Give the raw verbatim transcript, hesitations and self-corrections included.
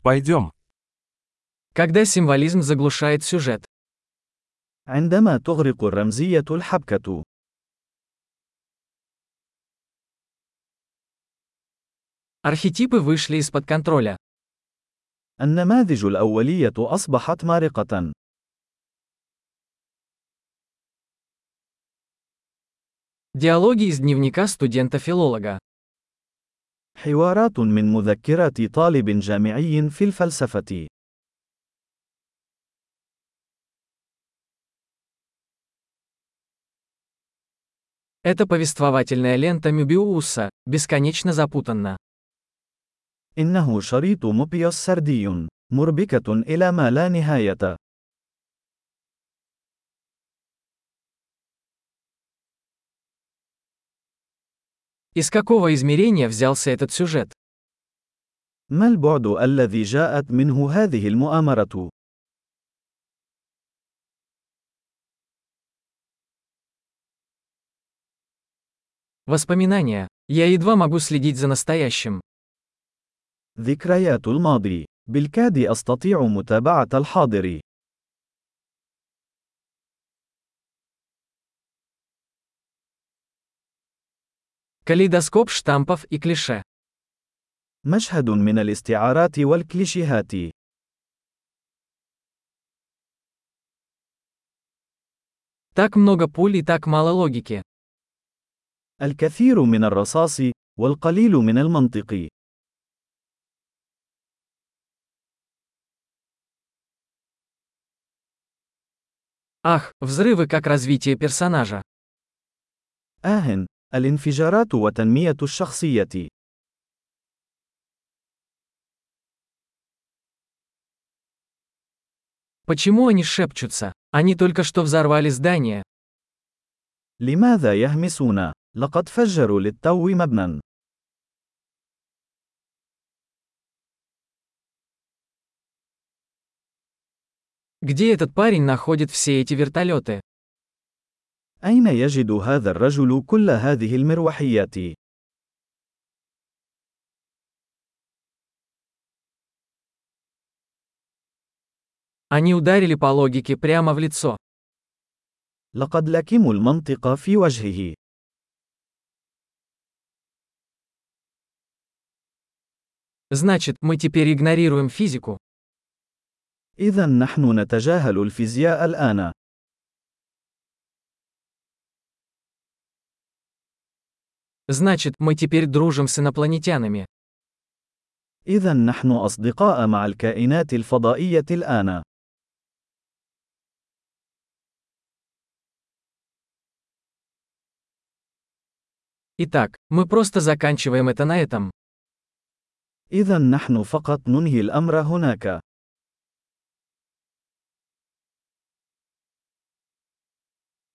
Пойдем. Когда символизм заглушает сюжет. عندما تغرق الرمزية الحبكة. Архетипы вышли из-под контроля. النماذج الأولية أصبحت مارقة. Диалоги из дневника студента-филолога. حوارات من مذكرات طالب جامعي في الفلسفة. Это повествовательная лента Мёбиуса, бесконечно запутанна. إنه شريط موبيوس سردي، مربكة إلى ما لا نهاية. Из какого измерения взялся этот сюжет? ما البعد الذي جاءت منه هذه المؤامرة؟ Воспоминания. Я едва могу следить за настоящим. ذكريات الماضي. بالكاد أستطيع متابعة الحاضر. Калейдоскоп штампов и клише. مشهد من الاستعارات والكليشيهات. Так много пуль и так мало логики. الكثير من الرصاص، والقليل من المنطق. Ах, взрывы как развитие персонажа. آه، الانفجارات وتنمية الشخصية. Почему они шепчутся? Они только что взорвали здание. لماذا يهمسون؟ لقد فجروا للتو مبنى. Где этот парень находит все эти вертолеты? أين يجد هذا الرجل كل هذه المروحيات؟ Они ударили по логике прямо в лицо. لقد لكموا المنطق في وجهه. Значит, мы теперь игнорируем физику. إذا نحن نتجاهل الفيزياء الآن. Значит, мы теперь дружим с инопланетянами. إذا نحن أصدقاء مع الكائنات الفضائية الآن. Итак, мы просто заканчиваем это на этом. إذا نحن فقط ننهي الأمر هناك.